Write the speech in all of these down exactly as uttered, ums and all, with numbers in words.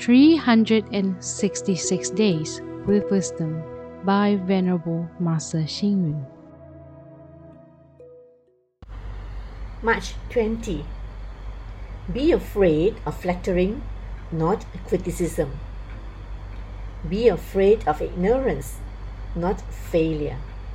three hundred sixty-six Days with Wisdom by Venerable Master Xing Yun. March twentieth. Be afraid of flattering, not criticism. Be afraid of ignorance, not failure.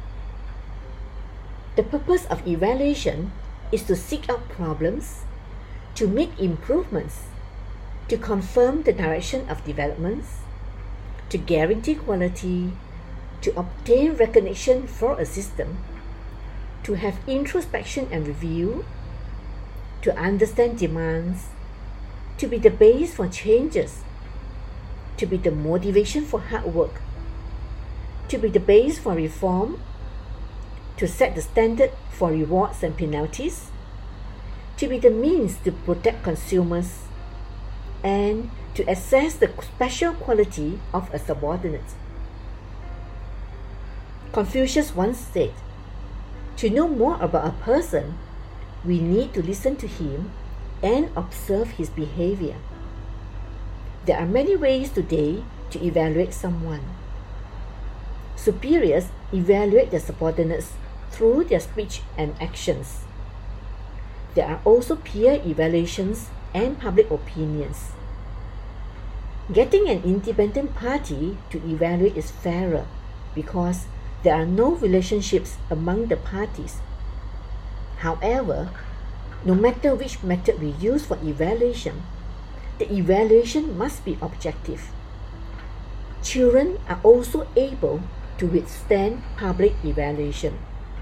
The purpose of evaluation is to seek out problems, to make improvements, to confirm the direction of developments, to guarantee quality, to obtain recognition for a system, to have introspection and review, to understand demands, to be the base for changes, to be the motivation for hard work, to be the base for reform, to set the standard for rewards and penalties, to be the means to protect consumers, and to assess the special quality of a subordinate. Confucius once said, "To know more about a person, we need to listen to him and observe his behavior." There are many ways today to evaluate someone. Superiors evaluate their subordinates through their speech and actions. There are also peer evaluations and public opinions. Getting an independent party to evaluate is fairer because there are no relationships among the parties. However, no matter which method we use for evaluation, the evaluation must be objective. Children are also able to withstand public evaluation.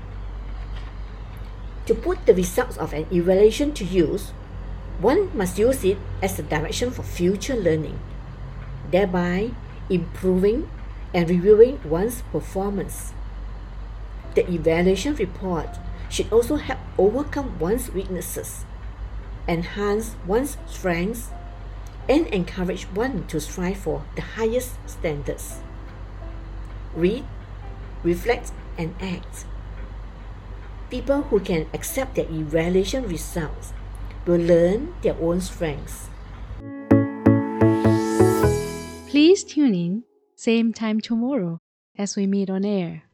To put the results of an evaluation to use, one must use it as a direction for future learning, thereby improving and reviewing one's performance. The evaluation report should also help overcome one's weaknesses, enhance one's strengths, and encourage one to strive for the highest standards. Read, reflect, and act. People who can accept their evaluation results will learn their own strengths. Please tune in, same time tomorrow as we meet on air.